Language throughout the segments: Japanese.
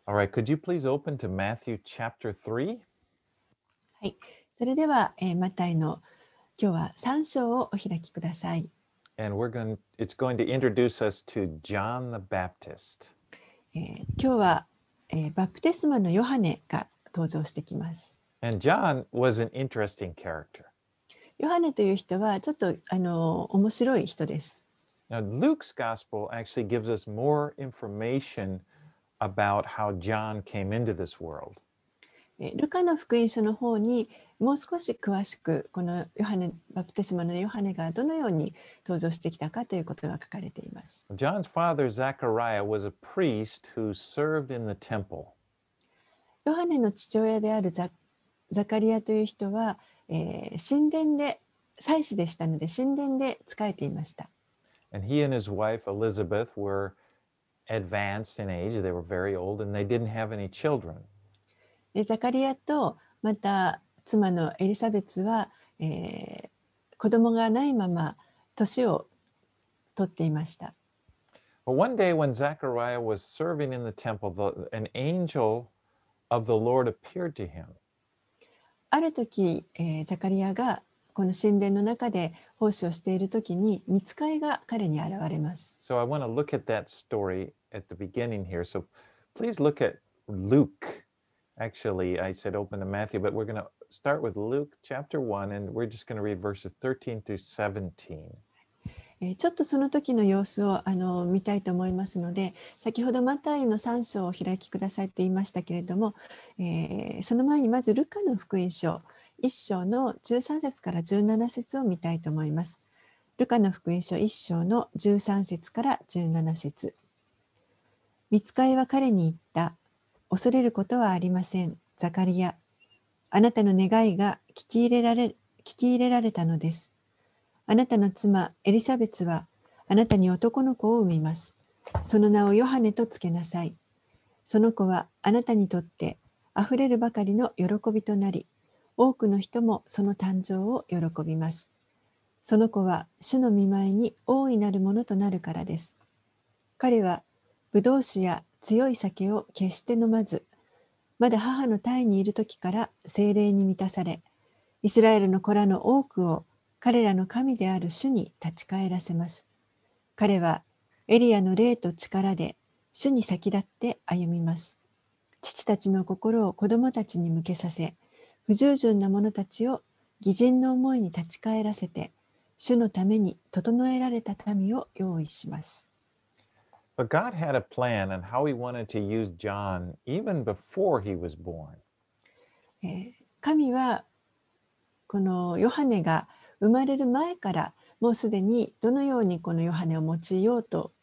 All right, could you please open to Matthew chapter 3? はい。それでは、マタイの今日は3章をお開きください。 And it's going to introduce us to John the Baptist. 今日は、バプテスマのヨハネが登場してきます。 And John was an interesting character. ヨハネという人はちょっと面白い人です。 Now, Luke's gospel actually gives us more information about how John came into this world. ルカの福音書の方にもう少し詳しくこのバプテスマのヨハネがどのように登場してきたかということが書かれています。 John's father, Zechariah, was a priest who served in the temple. ヨハネの父親であるザカリアという人は、神殿で祭司でしたので神殿で仕えていました。 And he and his wife, Elizabeth, were advanced in age. They were very old and they didn't have any children. でザカリアとまた妻のエリザベツは、子供がないまま年を取っていました。 But one day when Zechariah was serving in the temple, an angel of the Lord appeared to him. ある時、ザカリアがこの神殿の中で奉仕をしている時に御使いが彼に現れます。 So I want to look at that story at the beginning here. So please look at Luke. Actually, I said open to Matthew, but we're going to start with Luke chapter 1, and we're just going to read verses 13 through 17. ちょっとその時の様子を見たいと思いますので、先ほどマタイの3章をお開きくださいと言いましたけれども、その前にまずルカの福音書1章の13節から17節を見たいと思います。ルカの福音書1章の13節から17節。御使いは彼に言った。恐れることはありません。ザカリア。あなたの願いが聞き入れられたのです。あなたの妻エリザベツはあなたに男の子を産みます。その名をヨハネとつけなさい。その子はあなたにとってあふれるばかりの喜びとなり、多くの人もその誕生を喜びます。その子は主の御前に大いなるものとなるからです。彼はブドウ酒や強い酒を決して飲まず、まだ母の胎にいる時から聖霊に満たされ、イスラエルの子らの多くを彼らの神である主に立ち返らせます。彼はエリアの霊と力で主に先立って歩みます。父たちの心を子供たちに向けさせ、不従順な者たちを義人の思いに立ち返らせて、主のために整えられた民を用意します。 But God had a plan on how he wanted to use John even before he was born. 神はこのヨハネが生まれる前からもうすでにどのようにこのヨハネを用いようと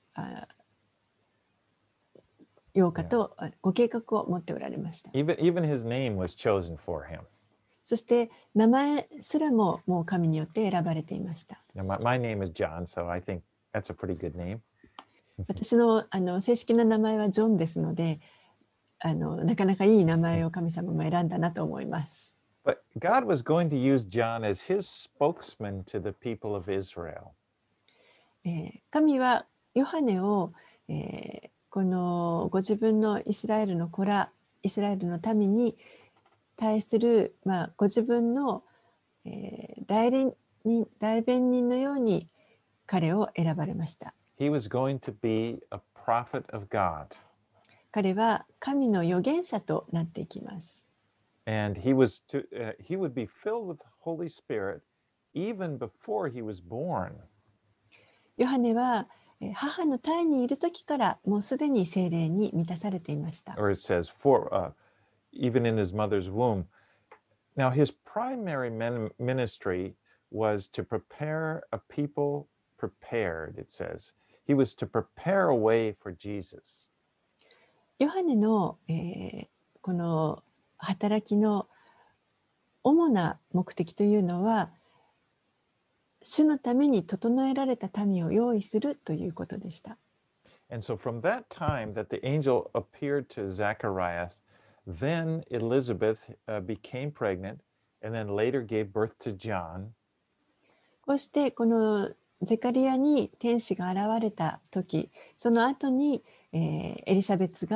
ご計画を持っておられました。 Even his name was chosen for him. そして名前すらももう神によって選ばれていました。 Now, my name is John, so I think that's a pretty good name. 私の正式な名前はジョンですので、なかなかいい名前を神様も選んだなと思います。 But God was going to use John as his spokesman to the people of Israel. 神はヨハネを、このご自分のイスラエルの子ら、イスラエルの民に対する、ご自分の、代弁人のように彼を選ばれました。 He was going to be a prophet of God. 彼は神の預言者となっていきます。 And he would be filled with the Holy Spirit even before he was born. ヨハネは母の胎にいる時からもうすでに聖霊に満たされていました。 Or it says, even in his mother's womb. Now, his primary ministry was to prepare a people prepared, it says. He was to prepare a way for Jesus. ヨハネの、この働きの主な目的というのは、主のために整えられた民を用意するということでした。 And so from that time that the angel appeared to Zacharias, then Elizabeth became pregnant and then later gave birth to John. こうしてこのゼカリアに天使が現れた時、その後に、エリザベツが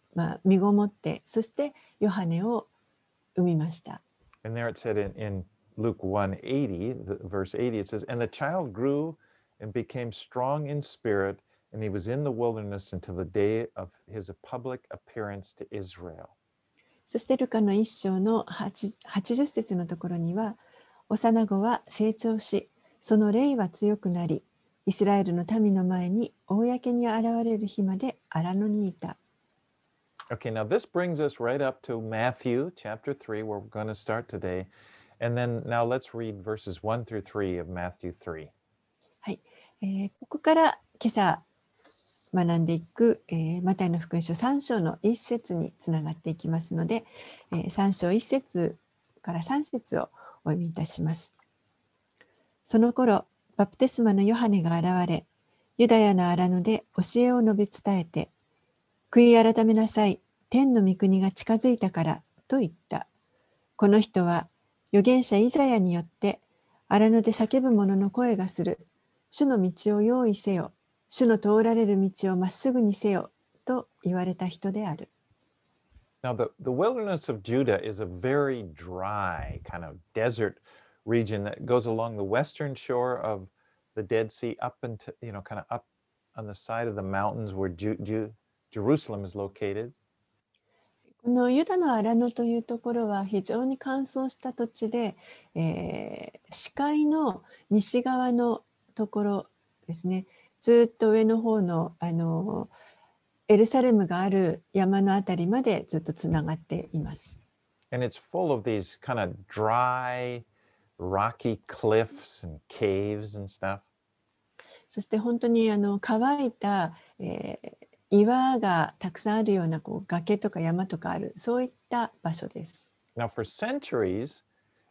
身ごもって、そしてヨハネを生みました。 And there it said in Luke 1:80, verse 80, it says, And the child grew and became strong in spirit, and he was in the wilderness until the day of his public appearance to Israel. そしてルカの一章の80節のところには、幼子は成長し、その霊は強くなり、イスラエルの民の前に公に現れる日まで荒野にいた。 Okay, now this brings us right up to Matthew chapter 3, where we're going to start today. And then now let's read verses 1 through 3 of Matthew 3. はい、ここから今朝学んでいく、マタイの福音書3章の1節につながっていきますので、3章1節から3節をお読みいたします。その頃、バプテスマのヨハネが現れ、ユダヤの荒野で教えを述べ伝えて、悔い改めなさい、天の御国が近づいたからと言った。この人は預言者イザヤによって荒野で叫ぶ者の声がする。主の道を用意せよ。主の通られる道をまっすぐにせよ。と言われた人である。 Now, the wilderness of Judah is a very dry, kind of desert region that goes along the western shore of the Dead Sea up into, kind of up on the side of the mountains where Jerusalem is located. このユダの荒野というところは非常に乾燥した土地で、視界の西側のところですね。ずっと上の方の、エルサレムがある山のあたりまでずっとつながっています。 And it's full of these kind of dry, rocky cliffs and caves and stuff. そして本当に乾いた、岩がたくさんあるような崖とか山とかある、そういった場所です。 Now, for centuries,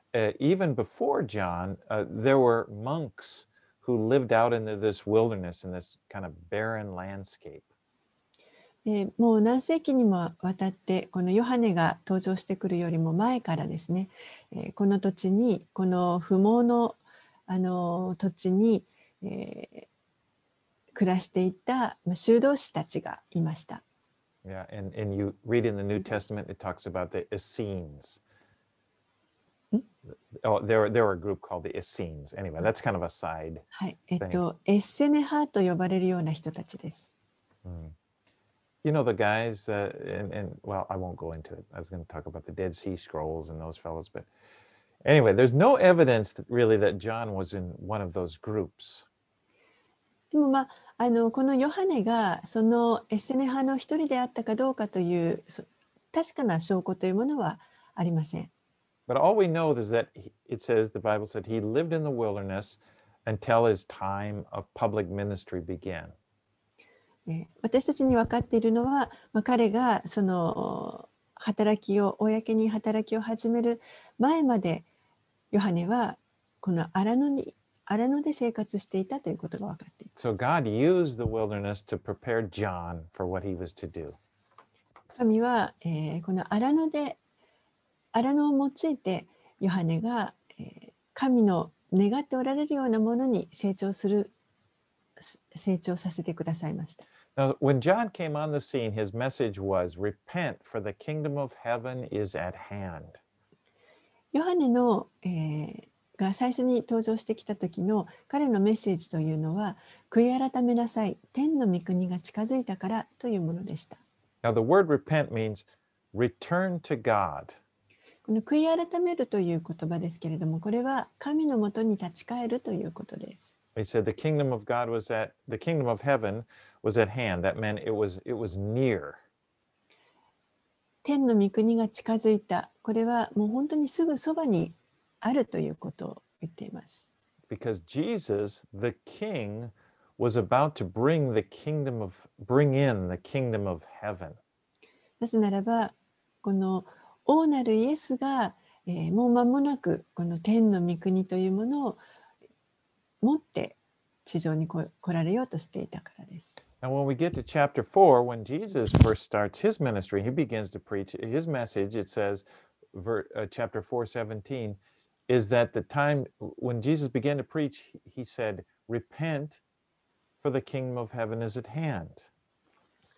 even before John, there were monks who lived out in this wilderness, in this kind of barren landscape. もう何世紀にもわたってこのヨハネが登場してくるよりも前からですね、この土地にこの不毛の、土地に、暮らしていた修道士たちがいました。 Yeah, and you read in the New Testament, it talks about the Essenes. Oh, there were a group called the Essenes. Anyway, that's kind of a side はい、 thing. エッセネ派と呼ばれるような人たちです。 You know, the guys, well, I won't go into it. I was going to talk about the Dead Sea Scrolls and those fellows, but anyway, there's no evidence really that John was in one of those groups. でもこのヨハネがそのエッセネ派の一人であったかどうかという確かな証拠というものはありません。 But all we know is that it says, the Bible said, he lived in the wilderness until his time of public ministry began. 私たちに分かっているのは、彼がその公に働きを始める前までヨハネはこの荒野で生活していたということが分かっています。 So God used the wilderness to prepare John for what he was to do. 神は、この荒野を用いてヨハネが、神の願っておられるようなものに成長させてくださいました。 Now, when John came on the scene, his message was, Repent, for the kingdom of heaven is at hand. ヨハネの、が最初に登場してきた時の彼のメッセージというのは、悔い改めなさい、天の御国が近づいたからというものでした。 Now, the word repent means return to God. この悔い改めるという言葉ですけれども、これは神のもとに立ち返るということです。 He said the kingdom of heaven was at hand. That meant it was near. 天の御国が近づいた。これはもう本当にすぐそばにあるということを言っています。 Because Jesus, the King, was about to bring in the kingdom of heaven. なぜならば、この王なるイエスが、もう間もなくこの天の御国というものを持って地上に来られようとしていたからです。 Now, when we get to chapter 4, when Jesus first starts his ministry, he begins to preach his message. It says, chapter 4:17, is that the time when Jesus began to preach, he said, Repent, for the kingdom of heaven is at hand.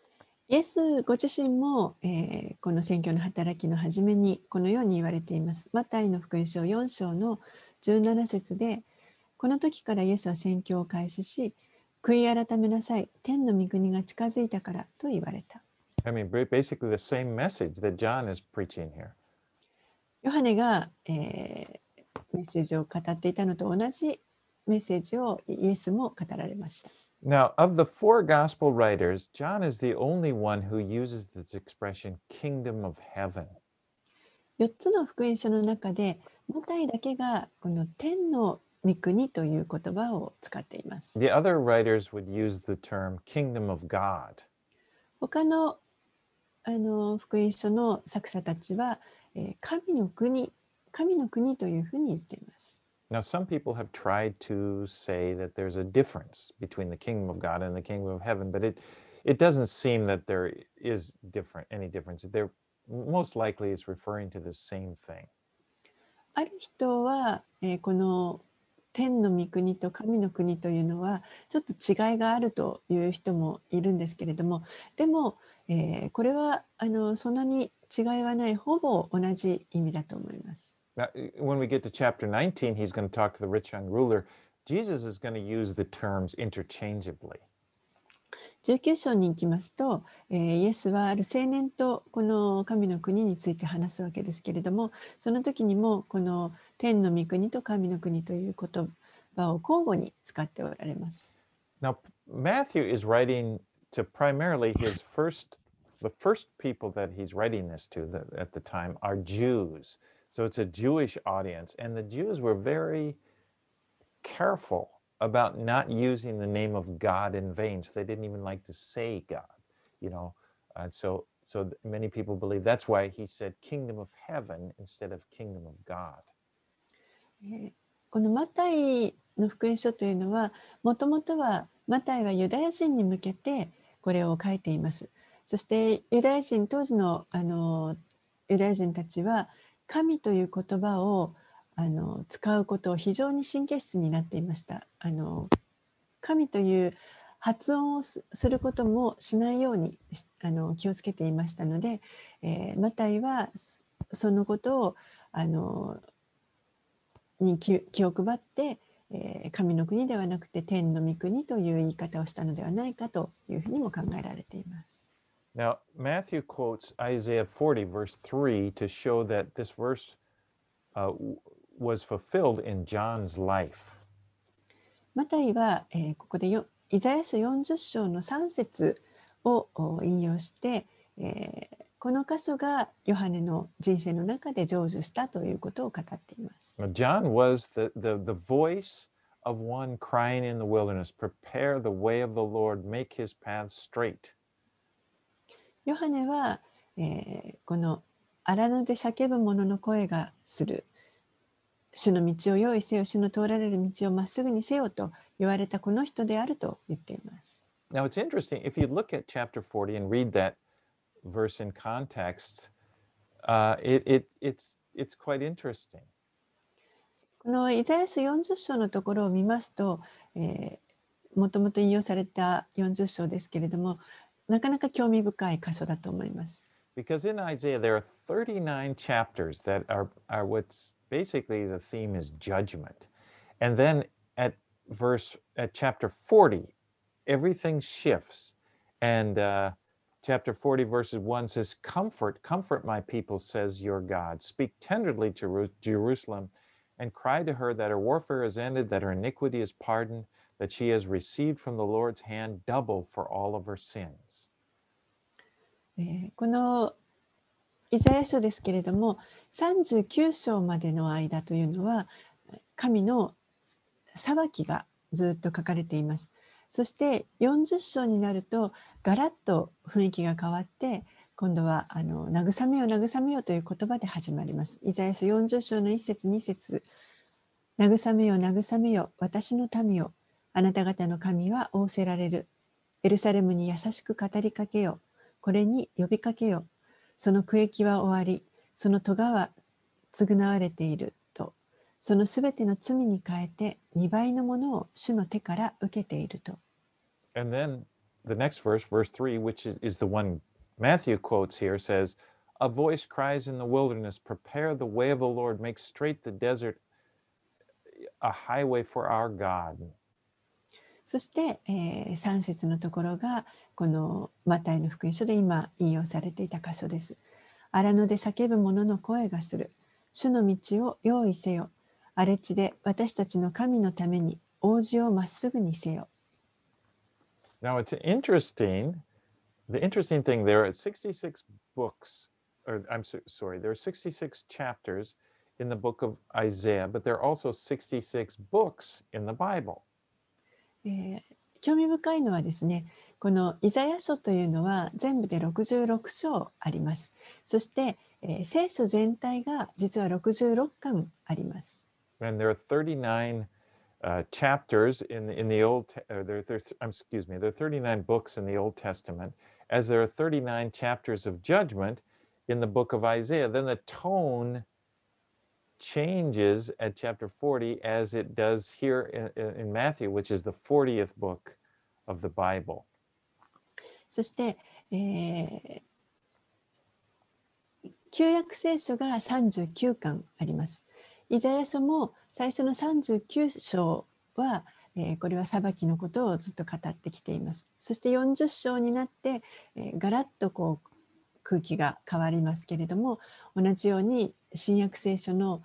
イエスご自身も、この宣教の働きの初めにこのように言われています。マタイの福音書4章の17節で、この時からイエスは宣教を開始し、悔い改めなさい、天の御国が近づいたからと言われた。 I mean, basically the same message that John is preaching here. ヨハネが、メッセージを語っていたのと同じメッセージをイエスも語られました。 Now, of the four gospel writers, John is the only one who uses this expression, kingdom of heaven. 4つの福音書の中で、マタイだけがこの天の御国という言葉を使っています。 The other writers would use the term kingdom of God. 他の福音書の作者たちは、神の国というふうに言っています。 Now, some people have tried to say that there's a difference between the kingdom of God and the kingdom of heaven, but it doesn't seem that there is any difference. Most likely it's referring to the same thing. ある人は、この天の御国と神の国というのはちょっと違いがあるという人もいるんですけれども、でも、これはそんなに違いはない、ほぼ同じ意味だと思います。 Now, when we get to chapter 19, he's going to talk to the rich young ruler. Jesus is going to use the terms interchangeably. 19章に行きますと、イエスはある青年とこの神の国について話すわけですけれども、その時にもこの天の御国と神の国という言葉を交互に使っておられます。 Now, Matthew is writing to primarily the first people that he's writing this to at the time are Jews. So it's a Jewish audience. And the Jews were very careful about not using the name of God in vain. So they didn't even like to say God, you know. So many people believe that's why he said kingdom of heaven instead of kingdom of God. このマタイの福音書というのは、もともとはマタイはユダヤ人に向けてこれを書いています。そして当時のユダヤ人たちは神という言葉を使うことを非常に神経質になっていました。神という発音をすることもしないように気をつけていましたので、マタイはそのことをに気を配って、神の国ではなくて天の御国という言い方をしたのではないかというふうにも考えられています。 Now, Matthew quotes Isaiah 40, verse 3, to show that this verse was fulfilled in John's life. マタイは、ここでイザヤ書40章の3節を引用して、この箇所がヨハネの人生の中で成就したということを語っています。 Now, John was the voice of one crying in the wilderness, prepare the way of the Lord, make his path straight. ヨハネは、この荒野で叫ぶ者の声がする。主の道を用意せよ、主の通られる道をまっすぐにせよと言われたこの人であると言っています。 Now, it's interesting, if you look at chapter 40 and read that verse in context, it's quite interesting. このイザヤ書40章のところを見ますと、もともと引用された40章ですけれども、なかなか興味深い箇所だと思います。 Because in Isaiah, there are 39 chapters that are what's basically the theme is judgment. And then at chapter 40, everything shifts. And chapter 40, verses 1 says, comfort my people, says your God. Speak tenderly to Jerusalem and cry to her that her warfare is ended, that her iniquity is pardoned, that she has received from the Lord's hand double for all of her sins. このイザヤ書ですけれども、39章までの間というのは神の裁きがずっと書かれています。そして40章になるとガラッと雰囲気が変わって、今度は慰めよ慰めよという言葉で始まります。イザヤ書40章の1節2節、慰めよ慰めよ私の民よ、あなた方の神は仰せられる。エルサレムに優しく語りかけよ、これに呼びかけよ。その区域は終わり、その咎は償われていると。そのすべての罪に変えて2倍のものを主の手から受けていると。 And then the next verse, verse 3, which is the one Matthew quotes here, says, A voice cries in the wilderness, prepare the way of the Lord, make straight the desert a highway for our God. そして、3節のところがこのマタイの福音書で今引用されていた箇所です。荒野で叫ぶ者の声がする。主の道を用意せよ。荒れ地で私たちの神のために王子をまっすぐにせよ。 Now it's interesting. The interesting thing, there are 66 books, or sorry, there are 66 chapters in the book of Isaiah, but there are also 66 books in the Bible. 興味深いのはですね、このイザヤ書というのは全部で66章あります。そして、聖書全体が実は66巻あります。 And there are 39 chapters in the Old, excuse me, there are 39 books in the Old Testament, as there are 39 chapters of judgment in the book of Isaiah. Then the tone changes at chapter 40 as it does here in Matthew, which is the 40th book of the Bible. そして、旧約聖書が39巻あります。イザヤ書も最初の39章は、これは裁きのことをずっと語ってきています。そして40章になって、ガラッとこう空気が変わりますけれども、同じように新約聖書の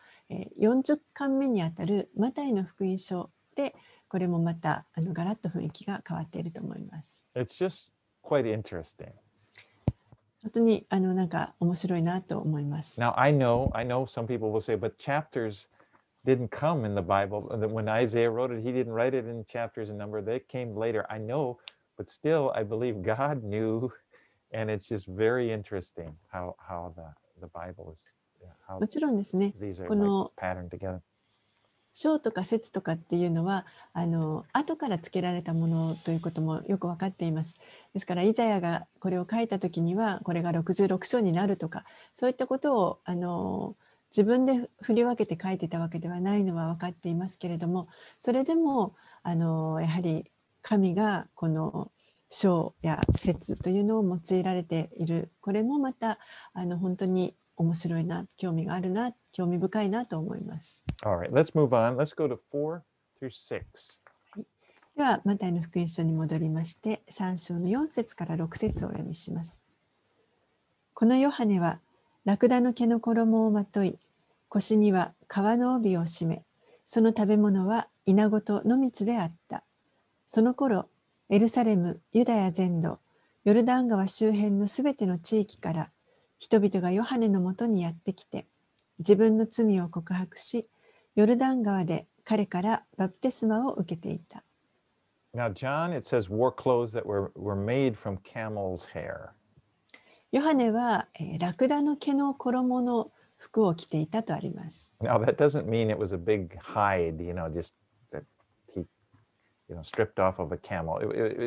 40巻目にあたるマタイの福音書で、これもまたガラッと雰囲気が変わっていると思います。 It's just quite interesting. 本当になんか面白いなと思います。 Now I know some people will say, but chapters didn't come in the Bible. When Isaiah wrote it, he didn't write it in chapters and number. They came later. I know, but still, I believe God knew, and it's just very interesting how the Bible is. How もちろんですね、 these are この like patterned together. 章とか節とかっていうのは後からつけられたものということもよく分かっています。ですからイザヤがこれを書いた時にはこれが66章になるとかそういったことを自分で振り分けて書いてたわけではないのは分かっていますけれども、それでもやはり神がこの章や節というのを用いられている、これもまた本当に面白いな、興味があるな、興味深いなと思います。 All right, let's move on. Let's go to 4 through 6. ではマタイの福音書に戻りまして3章の4節から6節をお読みします。このヨハネはラクダの毛の衣をまとい、腰には革の帯を締め、その食べ物はイナゴと野蜜であった。その頃エルサレム、ユダヤ全土、ヨルダン川周辺のすべての地域から人々がヨハネのもとにやってきて、自分の罪を告白し、ヨルダン川で彼からバプテスマを受けていた。 Now, John, it says, wore clothes that were made from camel's hair. ヨハネは、ラクダの毛の衣の服を着ていたとあります。 Now, that doesn't mean it was a big hide, just that he, stripped off of a camel.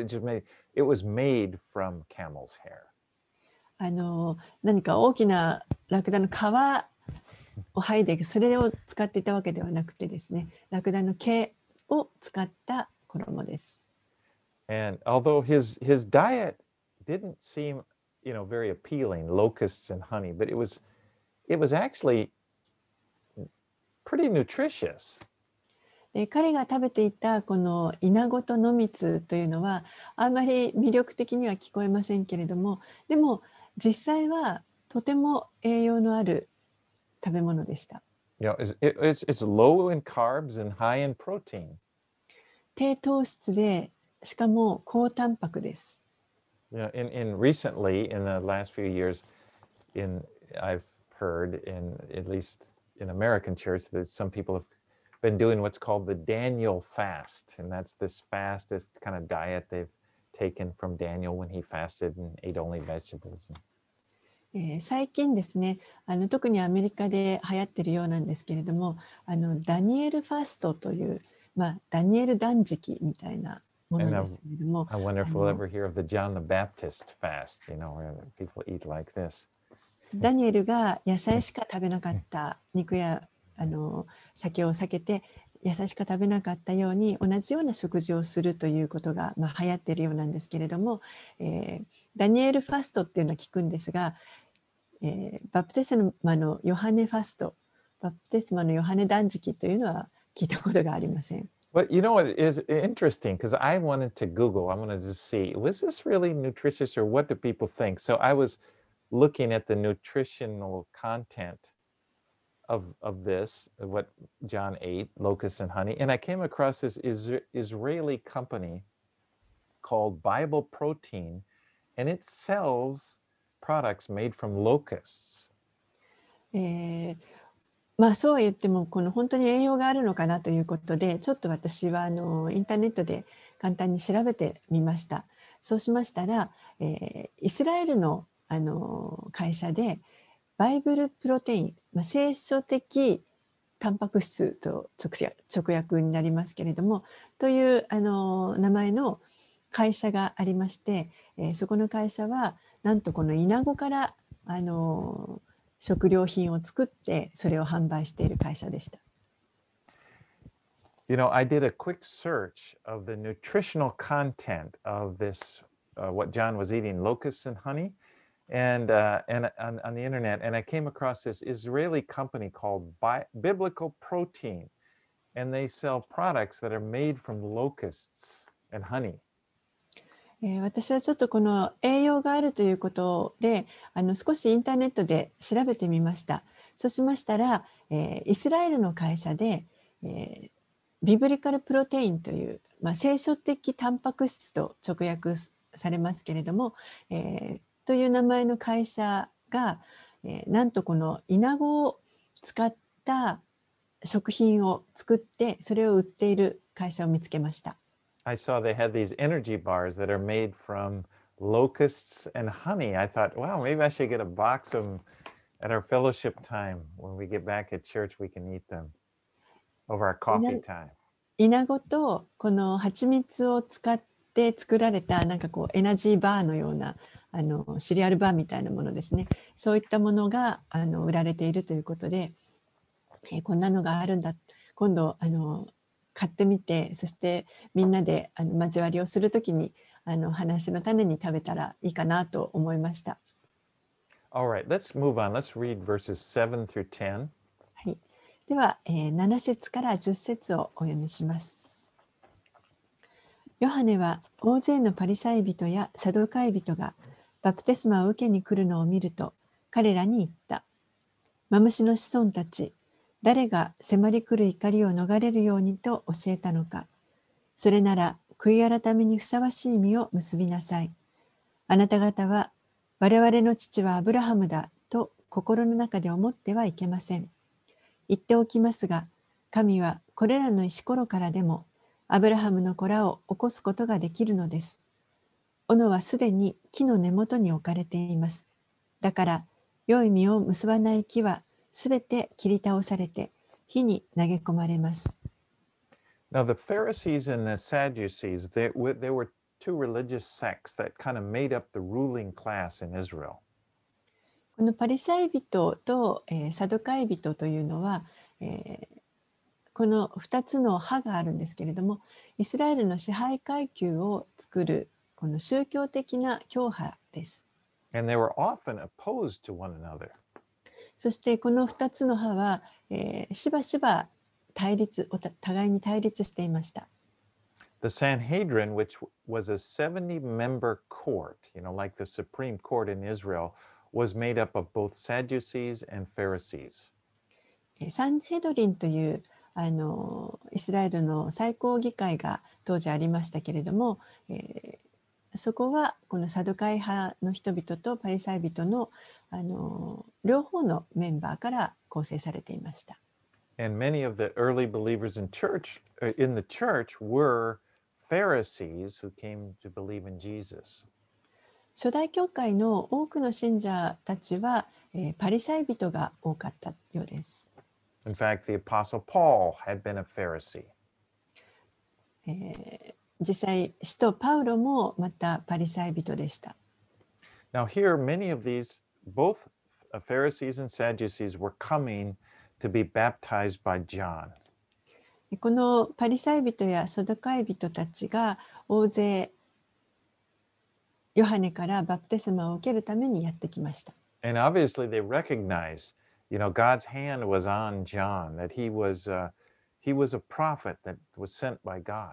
It was made from camel's hair. 何か大きなラクダの皮を剥いでそれを使っていたわけではなくてですね、ラクダの毛を使った衣です。 And although his diet didn't seem, very appealing, locusts and honey, but it was actually pretty nutritious. で彼が食べていたこのイナゴと野蜜というのはあんまり魅力的には聞こえませんけれども、でも実際はとても栄養のある食べ物でした。 It's low in carbs and high in protein. 低糖質でしかも高タンパクです。 In recently, in the last few years, I've heard at least in American church that some people have been doing what's called the Daniel fast, and that's this fast, this kind of diet they've taken from Daniel when he fasted and ate only vegetables. 最近ですね、特にアメリカで流行っているようなんですけれども、ダニエルファストという、ダニエル断食みたいなものですけれども、 I wonder if we'll ever hear of the John the Baptist fast, where people eat like this. ダニエルが野菜しか食べなかった肉や酒を避けて野菜しか食べなかったように同じような食事をするということが、流行っているようなんですけれども、ダニエルファストっていうのは聞くんですが、バプテスマのヨハネファスト、バプテスマのヨハネ断食というのは聞いたことがありません。 But you know what is interesting? Because I wanted to Google, I wanted to see, was this really nutritious or what do people think? So I was looking at the nutritional content of this, of what John ate, locusts and honey, and I came across this Israeli company called Bible Protein, and it sells products made from locusts. えーそうは言ってもこの本当に栄養があるのかなということで、ちょっと私はインターネットで簡単に調べてみました。そうしましたら、イスラエルの、会社でバイブルプロテイン、聖書的タンパク質と直訳になりますけれども、という名前の会社がありまして、そこの会社はなんとこのイナゴから食料品を作ってそれを販売している会社でした。 You know, I did a quick search of the nutritional content of this, what John was eating, locusts and honey, and on the internet, and I came across this Israeli company called Biblical Protein, and they sell products that are made from locusts and honey. 私はちょっとこの栄養があるということで少しインターネットで調べてみました。そうしましたら、イスラエルの会社で、ビブリカルプロテインという、聖書的タンパク質と直訳されますけれども、という名前の会社が、なんとこのイナゴを使った食品を作ってそれを売っている会社を見つけました。 I saw they had these energy bars that are made from locusts and honey. I thought, wow, maybe I should get a box of them at our fellowship time. When we get back at church, we can eat them over our イナ coffee time. イナゴとこの蜂蜜を使って作られたなんかこうエナジーバーのようなシリアルバーみたいなものですね。そういったものが売られているということで、こんなのがあるんだ。今度買ってみて、そしてみんなで交わりをするときに話の種に食べたらいいかなと思いました。 All right, let's move on. Let's read verses 7 through 10. はい、では、7節から10節をお読みします。ヨハネは大勢のパリサイ人やサドカイ人がバプテスマを受けに来るのを見ると彼らに言った。マムシの子孫たち、誰が迫り来る怒りを逃れるようにと教えたのか。それなら悔い改めにふさわしい実を結びなさい。あなた方は我々の父はアブラハムだと心の中で思ってはいけません。言っておきますが、神はこれらの石ころからでもアブラハムの子らを起こすことができるのです。斧はすでに木の根元に置かれています。だから、良い実を結ばない木はすべて切り倒されて火に投げ込まれます。 Now, the Pharisees and the Sadducees, they were two religious sects that kind of made up the ruling class in Israel. このパリサイ人と、サドカイ人というのは、この2つの派があるんですけれども、イスラエルの支配階級を作るこの宗教的な教派です。 And they were often opposed to one another. そしてこの2つの派は、しばしば互いに対立していました。 The Sanhedrin, which was a 70-member court, like the Supreme Court in Israel, was made up of both Sadducees and Pharisees. サンヘドリンというイスラエルの最高議会が当時ありましたけれども、そこはこのサドカイ派の人々とパリサイ人の、両方のメンバーから構成されていました。 And many of the early believers in the church were Pharisees who came to believe in Jesus. 初代教会の多くの信者たちは、パリサイ人が多かったようです。 In fact, the Apostle Paul had been a Pharisee. 実際、使徒パウロもまたパリサイ人でした。 Now, here, many of these, both Pharisees and Sadducees, were coming to be baptized by John. このパリサイ人やサドカイ人たちが大勢ヨハネからバプテスマを受けるためにやってきました。 And obviously they recognized, God's hand was on John, that he was a prophet that was sent by God.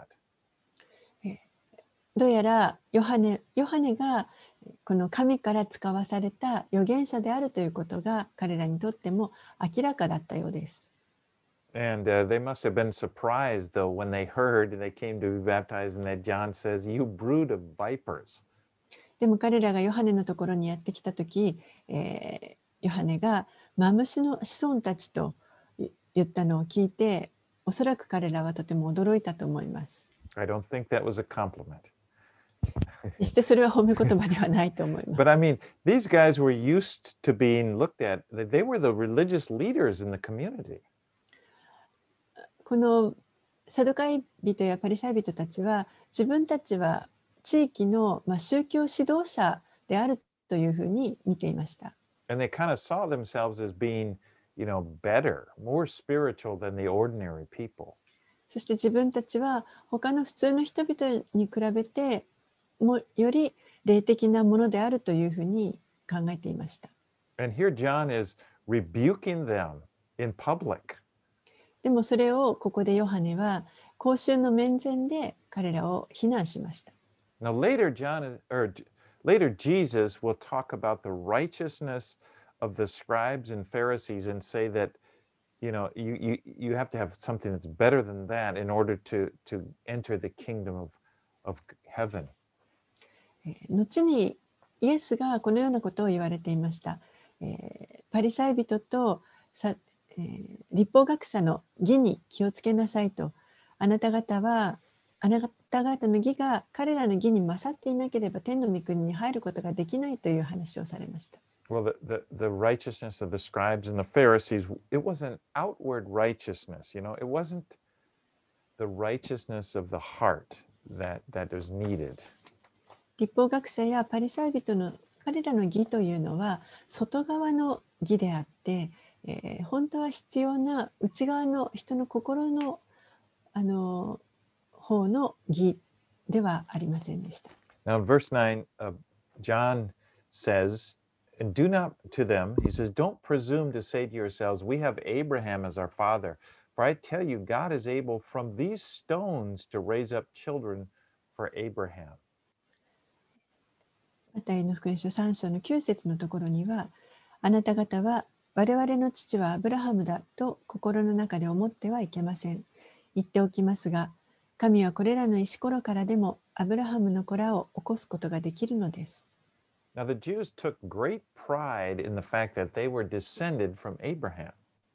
どうやらヨハネがこの神から使わされた預言者であるということが彼らにとっても明らかだったようです。 And they must have been surprised, though, when they heard and they came to be baptized, and that John says, "You brood of vipers." でも彼らがヨハネのところにやってきたとき、ヨハネがマムシの子孫たちと言ったのを聞いて、おそらく彼らはとても驚いたと思います。 I don't think that was a compliment. 決してそれは褒め言葉ではないと思います。 But I mean, these guys were used to being looked at. They were the religious leaders in the community. このサドカイ人やパリサイ人たちは自分たちは地域の、宗教指導者であるというふうに見ていました。 And they kind of saw themselves as being, better, more spiritual than the ordinary people. そして自分たちは他の普通の人々に比べてもより霊的なものであるというふうに考えていました。 And here John is rebuking them in public. でもそれをここでヨハネは公衆の面前で彼らを非難しました。 Now later Jesus will talk about the righteousness of the scribes and Pharisees and say that you have to have something that's better than that in order to enter the kingdom of heaven. 後にイエスがこのようなことを言われていました。パリサイ人と律法学者の義に気をつけなさいと。あなた方の義が彼らの義に勝っていなければ天の御国に入ることができないという話をされました。 Well, the righteousness of the scribes and the Pharisees, it wasn't outward righteousness, it wasn't the righteousness of the heart that was needed. 律法学者やパリサイ人の彼らの義というのは外側の義であって、本当は必要な内側の人の心の方の義ではありませんでした。 Now, in verse 9, John says, and do not to them, he says, don't presume to say to yourselves, we have Abraham as our father. For I tell you, God is able from these stones to raise up children for Abraham. マタイの福音書3章の9節のところには、あなた方は我々の父はアブラハムだと心の中で思ってはいけません。言っておきますが、神はこれらの石ころからでもアブラハムの子らを起こすことができるのです。 Now, the Jews took great pride in the fact that they were descended from Abraham.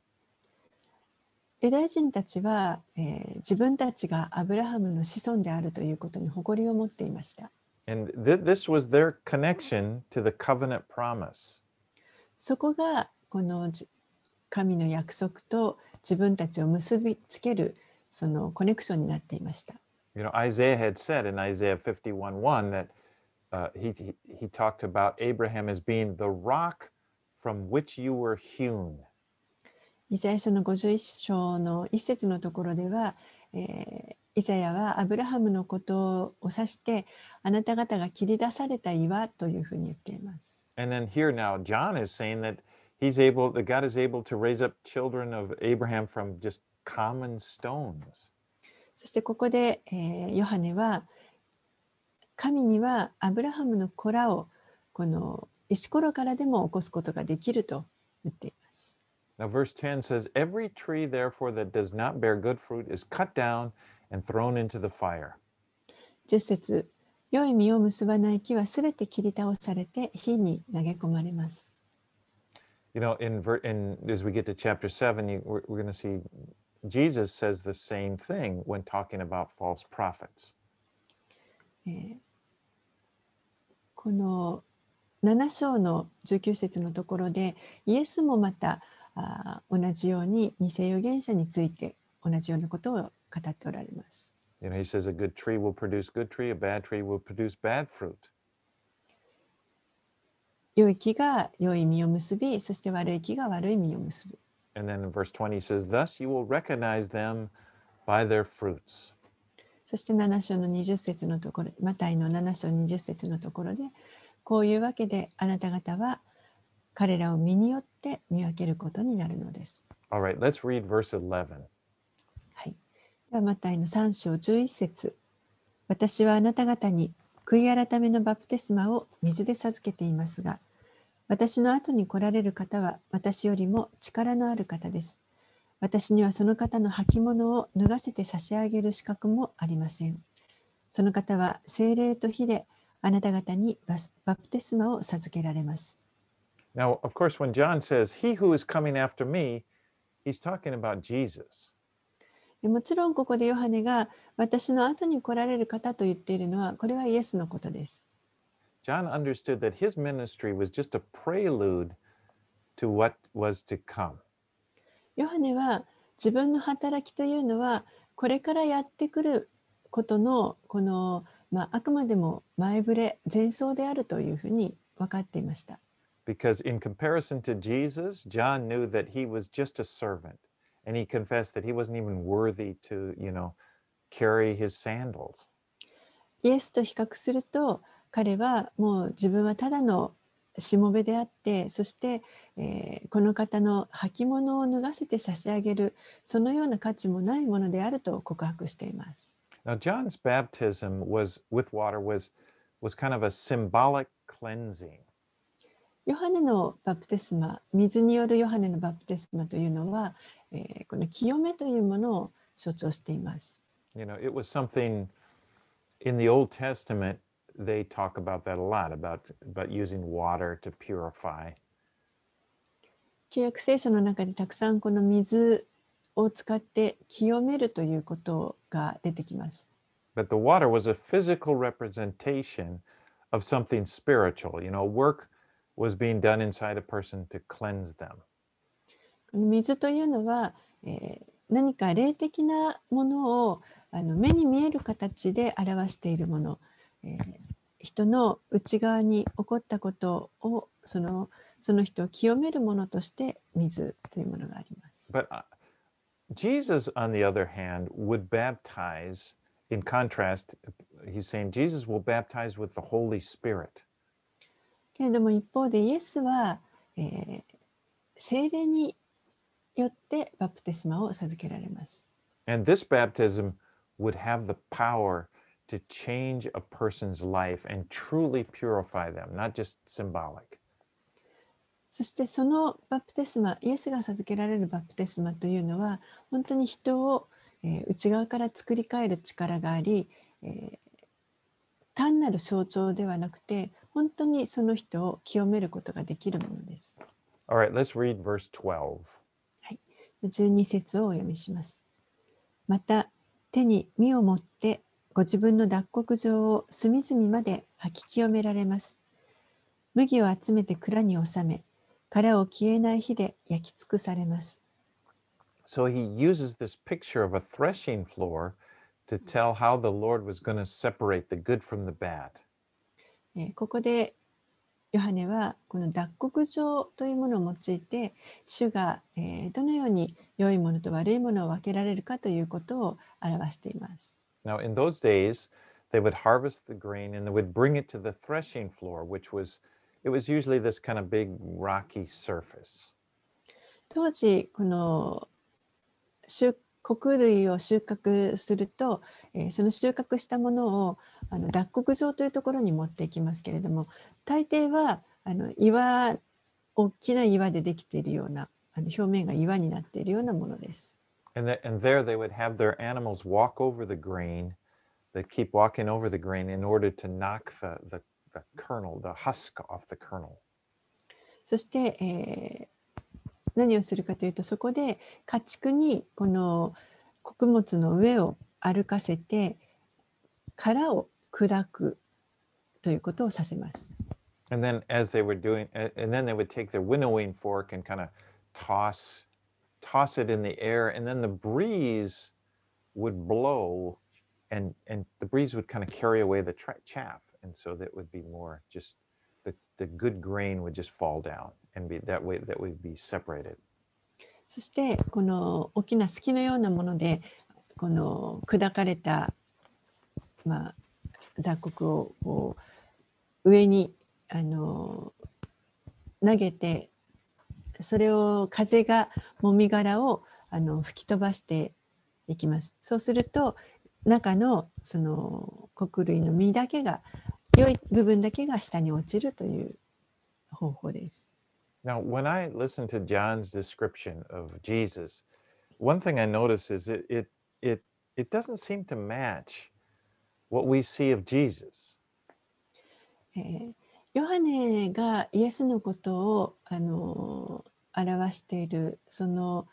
ユダヤ人たちは、自分たちがアブラハムの子孫であるということに誇りを持っていました。 And this was their connection to the covenant promise. そこがこの神の約束と自分たちを結びつけるそのコネクションになっていました。 Isaiah had said in Isaiah 51:1 that he talked about Abraham as being the rock from which you were hewn. イザヤ書の51章の一節のところでは、イザヤはアブラハムのことを指してあなた方が切り出された岩というふうに言っています。 And then here now John is saying that that God is able to raise up children of Abraham from just common stones. そしてここで、ヨハネは神にはアブラハムの子らをこの石ころからでも起こすことができると言っています。 Now verse 10 says, every tree therefore that does not bear good fruit is cut down and thrown into the fire. 10節、良い実を結ばない木はすべて切り倒されて火に投げ込まれます。 As we get to chapter 7, we're going to see Jesus says the same thing when talking about false prophets. この7章の19節のところでイエスもまた同じように偽預言者について同じようなことを語っておられます。 He says a good tree will produce good tree, a bad tree will produce bad fruit. 良い木が良い実を結び、そして悪い木が悪い実を結ぶ。 And then in verse 20 he says, thus you will recognize them by their fruits. そして7章の20節のところ、マタイの7章20節のところで、こういうわけであなた方は彼らを身によって見分けることになるのです。 All right, let's read verse 11. はい。ではマタイの3章11節。私はあなた方に悔い改めのバプテスマを水で授けていますが、私の後に来られる方は私よりも力のある方です。私にはその方の履物を脱がせて差し上げる資格もありません。その方は聖霊と火であなた方にバプテスマを授けられます。 Now, of course, when John says, He who is coming after me, he's talking about Jesus. もちろんここでヨハネが私の後に来られる方と言っているのは、これはイエスのことです。 John understood that his ministry was just a prelude to what was to come. ヨハネは自分の働きというのはこれからやってくることのこの、あくまでも前触れ前奏であるというふうに分かっていました。 Because in comparison to Jesus, John knew that he was just a servant. And he confessed that he wasn't even worthy to, carry his sandals. イエスと比較すると彼はもう自分はただのしもべであって、そして、この方の履物を脱がせて差し上げるそのような価値もないものであると告白しています。 Now, John's baptism with water was kind of a symbolic cleansing. ヨハネのバプテスマ、水によるヨハネのバプテスマというのは、この清めというものを象徴しています。 It was something in the Old Testament, they talk about that a lot, about using water to purify. 旧約聖書の中でたくさんこの水を使って清めるということが出てきます。 But the water was a physical representation of something spiritual. Work was being done inside a person to cleanse them. この水というのは、何か霊的なものを目に見える形で表しているもの、人の内側に起こったことをその人を清めるものとして水というものがあります。 But Jesus, on the other hand, would baptize. In contrast, he's saying Jesus will baptize with the Holy Spirit. けれども一方でイエスは、聖霊によってバプテスマを授けられます。 And this baptism would have the power to change a person's life and truly purify them, not just symbolic. そしてそのバプテスマ、イエスが授けられるバプテスマというのは本当に人を、内側から作り変える力があり、単なる象徴ではなくて本当にその人を清めることができるものです。 All right, let's read verse 12. はい、12節をお読みします。また手に実を持ってご自分の脱穀場を隅々まで吐き清められます。麦を集めて蔵に収め、殻を消えない火で焼き尽くされます。 So he uses this picture of a threshing floor to tell how the Lord was going to separate the good from the bad. ここでヨハネはこの脱穀場というものを用いて主がどのように良いものと悪いものを分けられるかということを表しています。 Now, in those days, they would harvest the grain and they would bring it to the threshing floor, it was usually this kind of big rocky surface. 当時この穀類を収穫すると、その収穫したものを脱穀場というところに持っていきますけれども、大抵は大きな岩でできているような表面が岩になっているようなものです。 And there they would have their animals walk over the grain. They'd keep walking over the grain in order to knock the kernel, the husk off the kernel. そして、何をするかというと、そこで家畜にこの穀物の上を歩かせて殻を砕くということをさせます。 And then as they were doing, and then they would take their winnowing fork and kind of toss it in the air, and then the breeze would blow, and the breeze would kind of carry away the chaff, and so that would be more just the good grain would just fall down and be that would be separated. そしてこの大きな隙のようなものでこの砕かれた、雑穀をこう上に投げて、それを風がもみ殻を吹き飛ばしていきます。そうすると中のその穀類の実だけが、良い部分だけが下に落ちるという方法です。 Now, when I listen to John's description of Jesus, one thing I notice is it doesn't seem to match what we see of Jesus. ヨハネがイエスのことを表しているその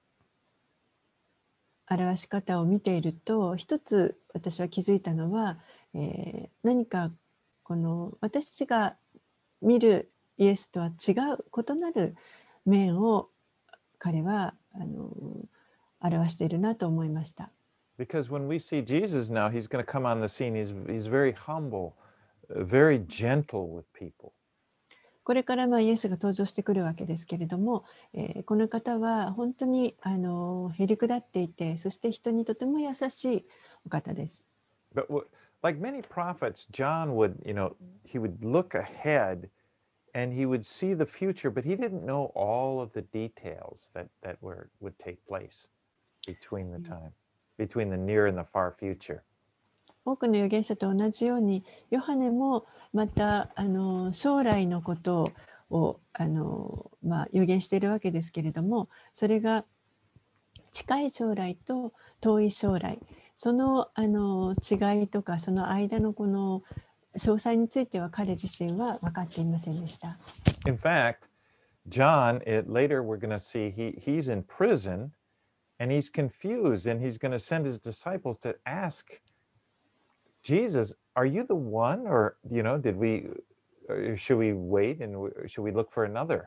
表し方を見ていると、一つ私は気づいたのは、何かこの私たちが見るイエスとは違う異なる面を彼は表しているなと思いました。 Because when we see Jesus now, he's going to come on the scene. He's very humble, very gentle with people. これからイエスが登場してくるわけですけれども、この方は本当にへりくだっていて、そして人にとても優しいお方です。 But like many prophets, John would, he would look ahead and he would see the future, but he didn't know all of the details that would take place between the time, between the near and the far future. 多くの預言者と同じように、ヨハネもまた将来のことを預言しているわけですけれども、それが近い将来と遠い将来、その違いとかその間のこの詳細については彼自身は分かっていませんでした。 In fact, John, later we're going to see he's in prison and he's confused and he's going to send his disciples to ask Jesus, are you the one, or should we wait and should we look for another?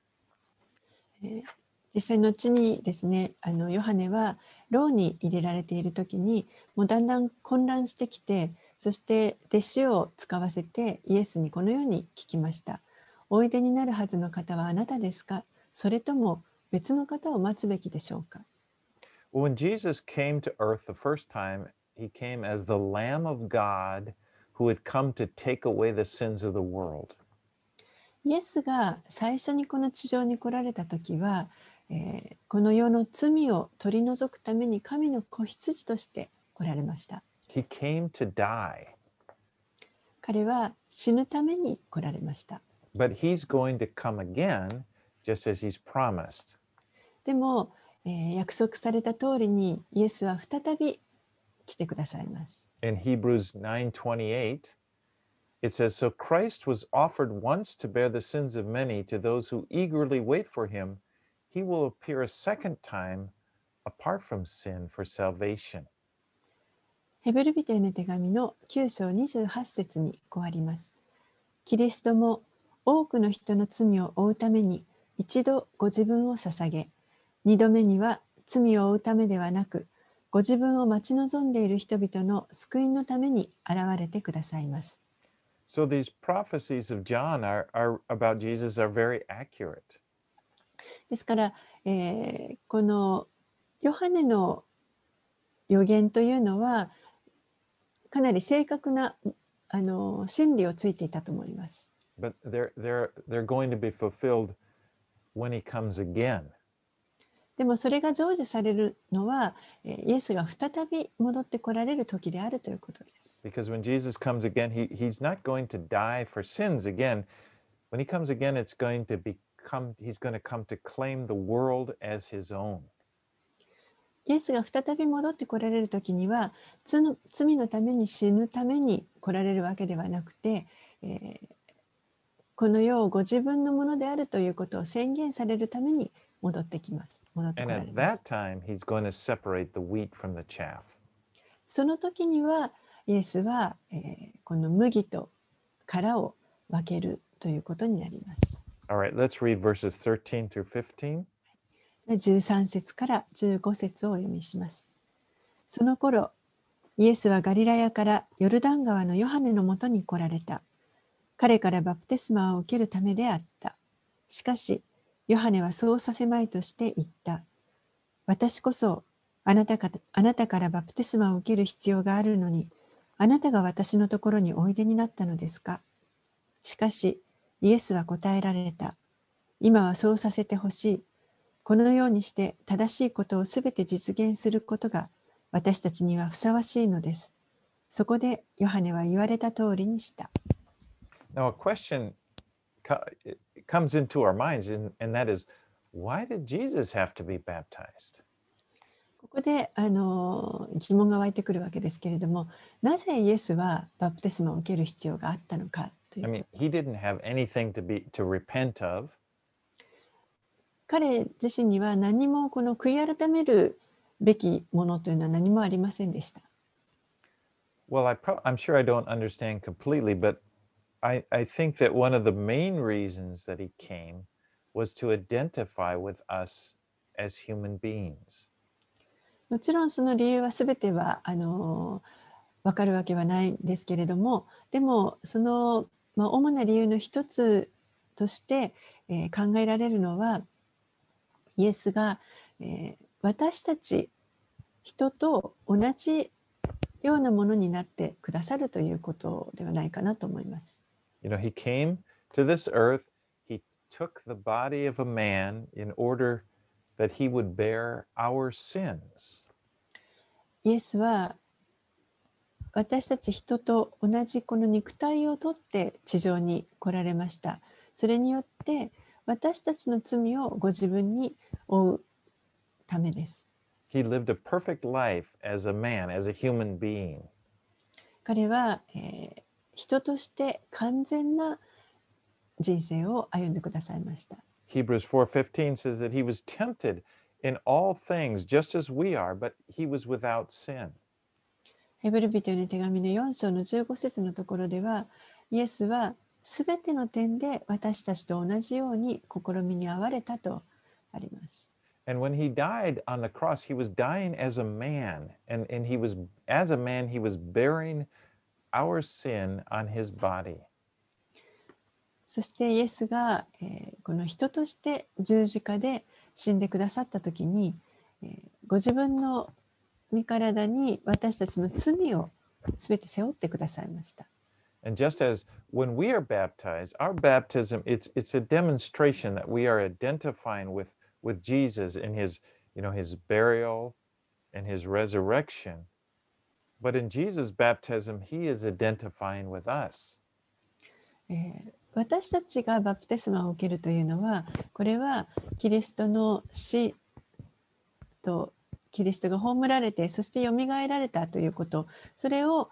実際後にですね、ヨハネは牢に入れられている時にもうだんだん混乱してきて、そして弟子を使わせてイエスにこのように聞きました。おいでになるはずの方はあなたですか、それとも別の方を待つべきでしょうか。 When Jesus came to earth the first time, he came as the Lamb of God who had come to take away the sins of the world. イエスが最初にこの地上に来られた時は、この世の罪を取り除くために神の子羊として来られました。 He came to die. 彼は死ぬために来られました。 But he's going to come again, just as he's promised. でも、約束された通りにイエスは再び来てくださいます。 In Hebrews 9:28, it says, So Christ was offered once to bear the sins of many. To those who eagerly wait for him, he will appear a second time apart from sin for salvation. ヘブル人への手紙の9章28節にこうあります。キリストも多くの人の罪を負うために一度ご自分を捧げ、二度目には罪を負うためではなく、ご自分を待ち望んでいる人々の救いのために現れてくださいます。 So these prophecies of John are about Jesus are very accurate. ですから、このヨハネの予言というのはかなり正確な真理をついていたと思います。 But they're going to be fulfilled when he comes again. でもそれが成就されるのはイエスが再び戻ってこられる時であるということです。 Because when Jesus comes again, he's not going to die for sins again. When he comes again, he's going to come to claim the world as his own. イエスが再び戻ってこられる時には罪のために死ぬために来られるわけではなくて、この世をご自分のものであるということを宣言されるために戻ってきます。戻ってこ And られ at ます。 that time, he's going to separate the wheat from the chaff. その時にはイエスは、この麦と殻を分けるということになります。 All right, let's read verses 13 through 15. 13節から15節をお読みします。その頃、イエスはガリラヤからヨルダン川のヨハネのもとに来られた。彼からバプテスマを受けるためであった。しかし、ヨハネはそうさせまいとして言った。私こそあなたからバプテスマを受ける必要があるのに、あなたが私のところにおいでになったのですか。しかし、イエスは答えられた。今はそうさせてほしい。このようにして正しいことをすべて実現することが私たちにはふさわしいのです。そこでヨハネは言われた通りにした。 Now, a question comes into our minds, and that is, why did Jesus have to be baptized? ここで疑問が湧いてくるわけですけれども、なぜイエスはバプテスマを受ける必要があったのかとい I うこ mean, と。 he didn't have anything to repent of. 彼自身には何もこの悔い改めるべきものというのは何もありませんでした。 Well, I'm sure I don't understand completely, but I think that one of the main reasons that he came was to identify with us as human beings. もちろんその理由は全ては分かるわけはないんですけれども、でもその、主な理由の一つとして、考えられるのは、イエスが、私たち人と同じようなものになってくださるということではないかなと思います。 You know, he came to this earth, he took the body of a man in order that he would bear our sins. イエスは私たち人と同じこの肉体をとって地上に来られました。それによって私たちの罪をご自分に負うためです。 He lived a perfect life as a man, as a human being. 彼は、人として完全な人生を歩んでくださいました。 Hebrews 4:15 says that he was tempted in all things just as we are, but he was without sin. ヘブル人への手紙の4章の15節のところでは、イエスはすべての点で私たちと同じように試みに遭われたとあります。 And when he died on the cross, he was dying as a man. And he was, as a man, he was bearing our sin on his body. そしてイエスが、この人として十字架で死んでくださったときに、ご自分の身体に私たちの罪をすべて背負ってくださいました。 And just as when we are baptized, our baptism, it's a demonstration that we are identifying with Jesus in his, his burial and his resurrection. But in Jesus' baptism, he is identifying with us. 私たちがバプテスマを受けるというのは、これはキリストの死とキリストが葬られて、そしてよみがえられたということ、それを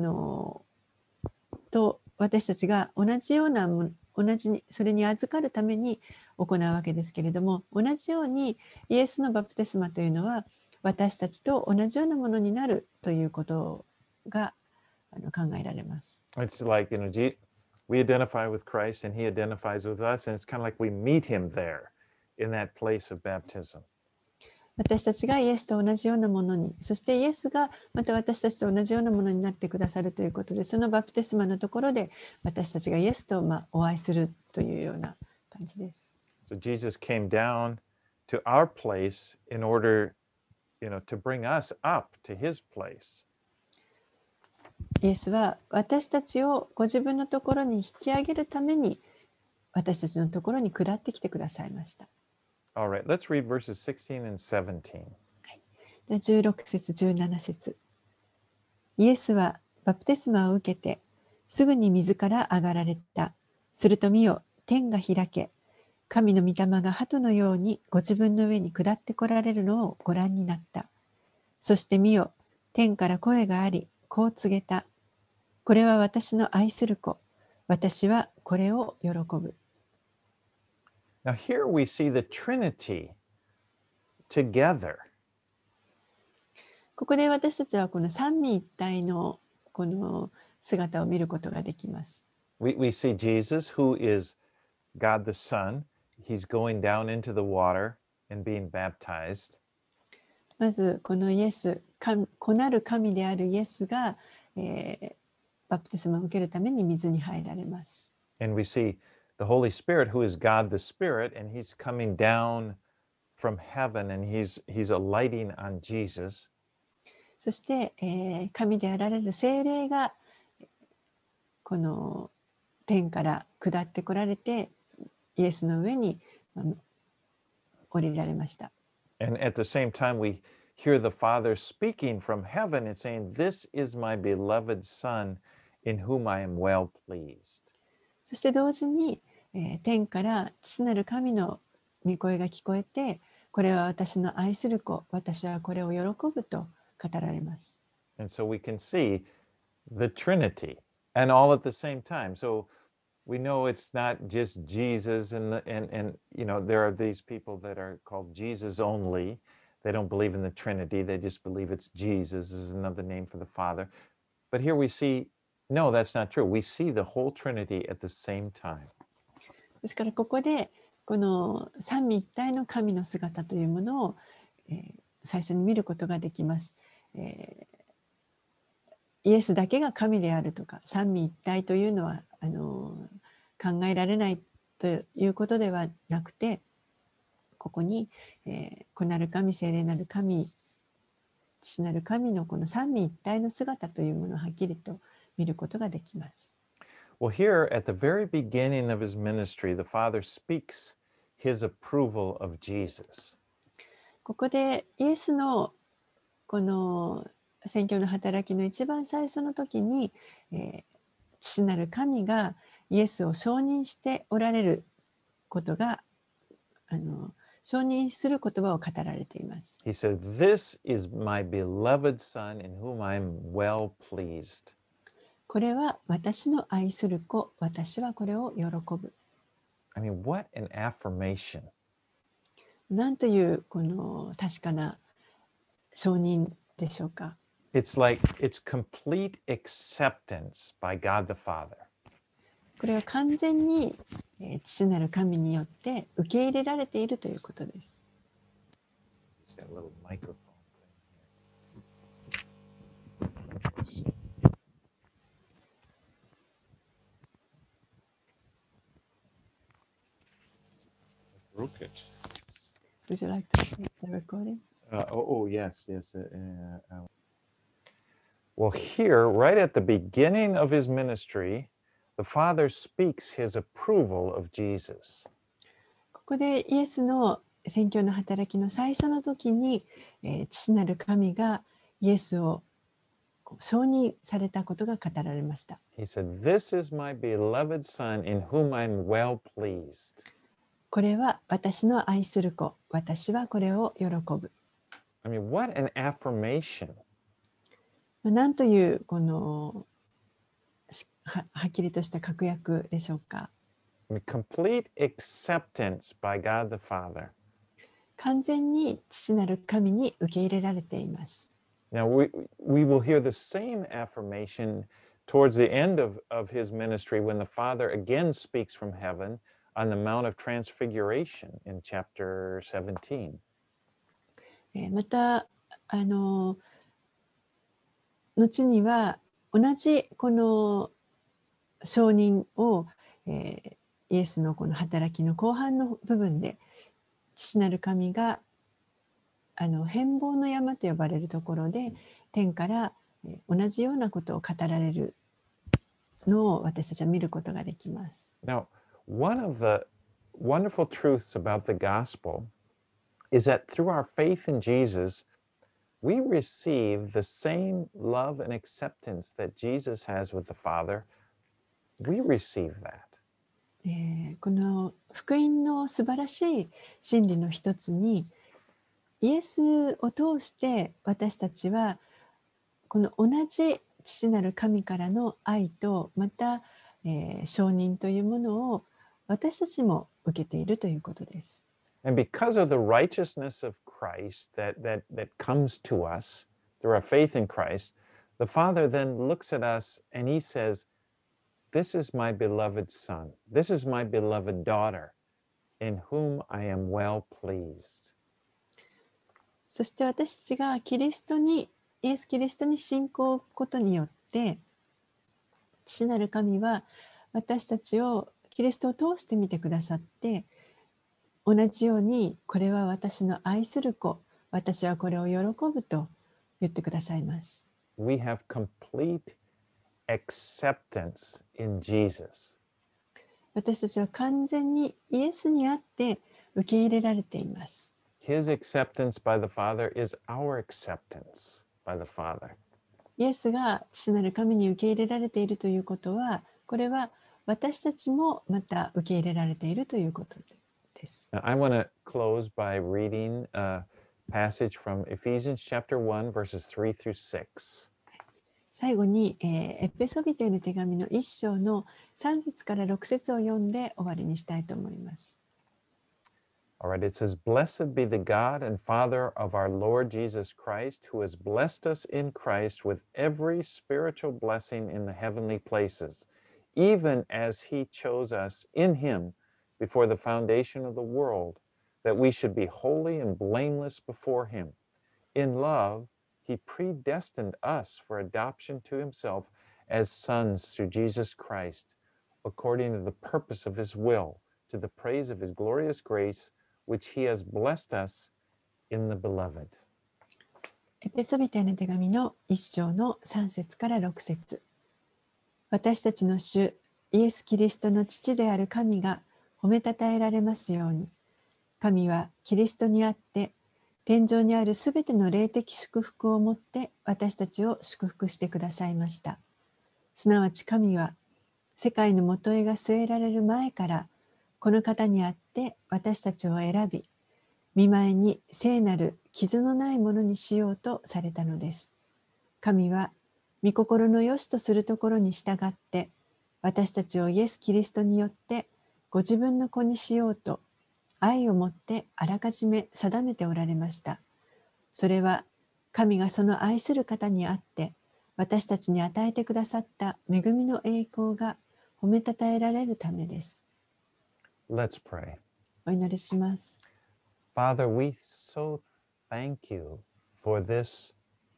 と私たちが同じような同じにそれに預かるために行うわけですけれども、同じようにイエスのバプテスマというのは私たちと同じようなものになるということが考えられます。 It's like, we identify with Christ and he identifies with us, and it's kind of like we meet him there in that place of baptism. 私たちがイエスと同じようなものに、そしてイエスがまた私たちと同じようなものになってくださるということで、そのバプテスマのところで私たちがイエスとお会いするというような感じです。 So Jesus came down to our place in order, to bring us up to his place. イエスは私たちをご自分のところに引き上げるために私たちのところに下ってきてくださいました。 All right, let's read verses 16 and 17. 16節17節。イエスはバプテスマを受けてすぐに水から上がられた。すると見よ、天が開け、神の御霊が鳩のようにご自分の上に下ってこられるのをご覧になった。そして見よ、天から声があり、こう告げた。これは私の愛する子。私はこれを喜ぶ。 Now, here we see the Trinity together. ここで私たちはこの三位一体のこの姿を見ることができます。 We see Jesus, who is God the Son. He's going down into the water and being baptized. まずこのイエス、子なる神であるイエスが、バプテスマを受けるために水に入られます。 And we see the Holy Spirit, who is God the Spirit, and he's coming down from heaven and he's alighting on Jesus. そして、神であられる聖霊がこの天から下ってこられてイエスの上に降りられました。 And at the same time, we hear the Father speaking from heaven and saying, This is my beloved Son, in whom I am well pleased. そして同時に、天から父なる神の御声が聞こえて、これは私の愛する子、私はこれを喜ぶと語られます。 And so we can see the Trinity and all at the same time. So we know it's not just Jesus and you know, there are these people that are called Jesus only. They don't believe in the Trinity. They just believe it's Jesus is another name for the Father. But here we see, no, that's not true. We see the whole Trinity at the same time. ですからここでこの三位一体の神の姿というものを、最初に見ることができます。イエスだけが神であるとか三位一体というのは考えられないということではなくて、ここに、子なる神、聖霊なる神、父なる神のこの三位一体の姿というものをはっきりと見ることができます。 Well, here at the very beginning of his ministry, the Father speaks his approval of Jesus. ここでイエスのこの宣教の働きの一番最初の時に、父なる神がイエスを承認しておられることが承認する言葉を語られています。 He said, This is my beloved Son in whom I am well pleased. これは私の愛する子、私はこれを喜ぶ。 I mean, what an affirmation. なんというこの確かな承認でしょうか。 It's like it's complete acceptance by God the Father. これは完全に、父なる神によって受け入れられているということです。 It's that little microphone thing here. Broke it. Would you like to start the recording? Yes. Well, here, right at the beginning of his ministry, the Father speaks his approval of Jesus. ここでイエスの宣教の働きの最初の時に、父なる神がイエスを承認されたことが語られました。 He said, This is my beloved Son in whom I'm well pleased. これは私の愛する子、私はこれを喜ぶ。 I mean, what an affirmation. なんというこのはっきりとした確約でしょうか。 I mean, complete acceptance by God the Father. 完全に父なる神に受け入れられています。 Now, we will hear the same affirmation towards the end of his ministry when the Father again speaks from heaven on the Mount of Transfiguration in chapter 17. また後には同じこの承認を、イエスのこの働きの後半の部分で父なる神が変貌の山と呼ばれるところで天から同じようなことを語られるのを私たちは見ることができます。 Now, one of the wonderful truths about the gospel is that through our faith in Jesus, we receive the same love and acceptance that Jesus has with the Father. We receive that. この福音の素晴らしい真理の一つに、イエスを通して私たちはこの同じ父なる神からの愛とまた、承認というものを私たちも受けているということです。 And because of the righteousness of Christ that comes to us through our faith in Christ, the Father then looks at us and he says, This is my beloved Son. This is my beloved daughter, in whom I am well pleased. そして私たちがイエス・キリストに信仰を置くことによって父なる神は私たちをキリストを通して見てくださって、 同じように、これは私の愛する子、私はこれを喜ぶと言ってくださいます。 We have complete acceptance in Jesus. 私たちは完全にイエスにあって受け入れられています。 His acceptance by the Father is our acceptance by the Father. イエスが父なる神に受け入れられているということは、これは私たちもまた受け入れられているということです。 Now, I want to close by reading a passage from Ephesians chapter 1, verses 3 through 6. 最後に、エペソビテへの手紙の1章の3節から6節を読んで終わりにしたいと思います。 All right, it says, Blessed be the God and Father of our Lord Jesus Christ, who has blessed us in Christ with every spiritual blessing in the heavenly places, even as he chose us in him before the foundation of the world, that we should be holy and blameless before him. In love, he predestined us for adoption to himself as sons through Jesus Christ, according to the purpose of his will, to the praise of his glorious grace, which he has blessed us in the beloved. エペソビテへの手紙の1章の3節から6節。私たちの主イエス・キリストの父である神が褒めたたえられますように。神はキリストにあって天上にあるすべての霊的祝福をもって私たちを祝福してくださいました。すなわち神は世界の元へが据えられる前からこの方にあって私たちを選び、見舞いに聖なる傷のないものにしようとされたのです。神は御心の良しとするところに従って私たちをイエス・キリストによってご自分の子にしようと愛をもってあらかじめ定めておられました。それは神がその愛する方にあって私たちに与えてくださった恵みの栄光が褒めたたえられるためです。 Let's pray. お祈りします。 Father, we so thank you for this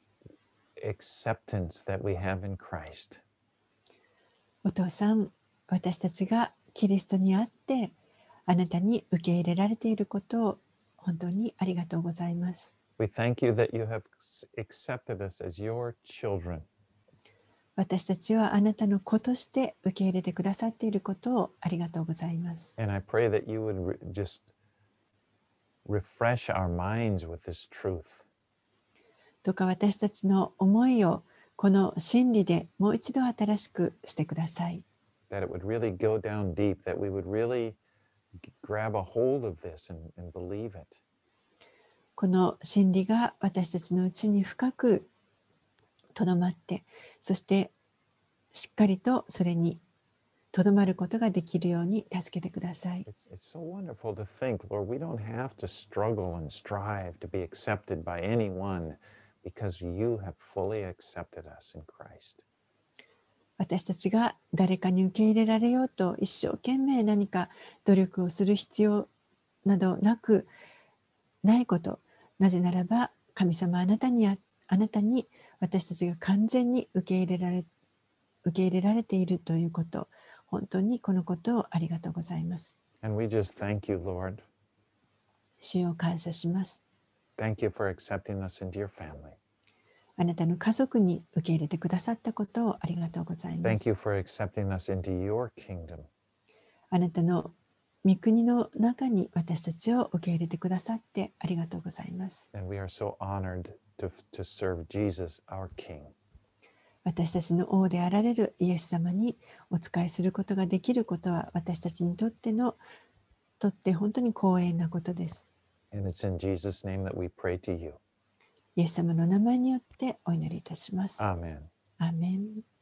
acceptance that we have in Christ. お父さん、私たちがキリストにあってあなたに受け入れられていることを本当にありがとうございます。 We thank you that you have accepted us as your children. 私たちはあなたの子として受け入れてくださっていることをありがとうございます。 And I pray that you would just refresh our minds with this truth. どうか私たちの思いをこの真理でもう一度新しくしてください。 That it would really go down deep, that we would really grab a hold of this and believe it. この真理が私たちのうちに深くとどまって、そしてしっかりとそれにとどまることができるように助けてください。 It's so wonderful to think, Lord, we don't have to struggle and strive to be accepted by anyone because you have fully accepted us in Christ. 私たちが誰かに受け入れられようと一生懸命何か努力をする必要などないこと。なぜならば神様あなたに私たちが完全に受け入れられているということ。本当にこのことをありがとうございます。 And we just thank you, Lord. 主を感謝します。 Thank you for accepting us into your family. あなたの家族に受け入れてくださったことをありがとうございま Thank you す。 for accepting us into your kingdom. あなたの御国の中に私たちを受け入れてくださってありがとうございます。 And we are so honored to serve Jesus, our King. 私たちの王であられるイエス様にお仕えすることができることは私たちにとって本当に光栄なことです。 And it's in Jesus' name that we pray to you. イエス様の名前によってお祈りいたします。 Amen. アーメン。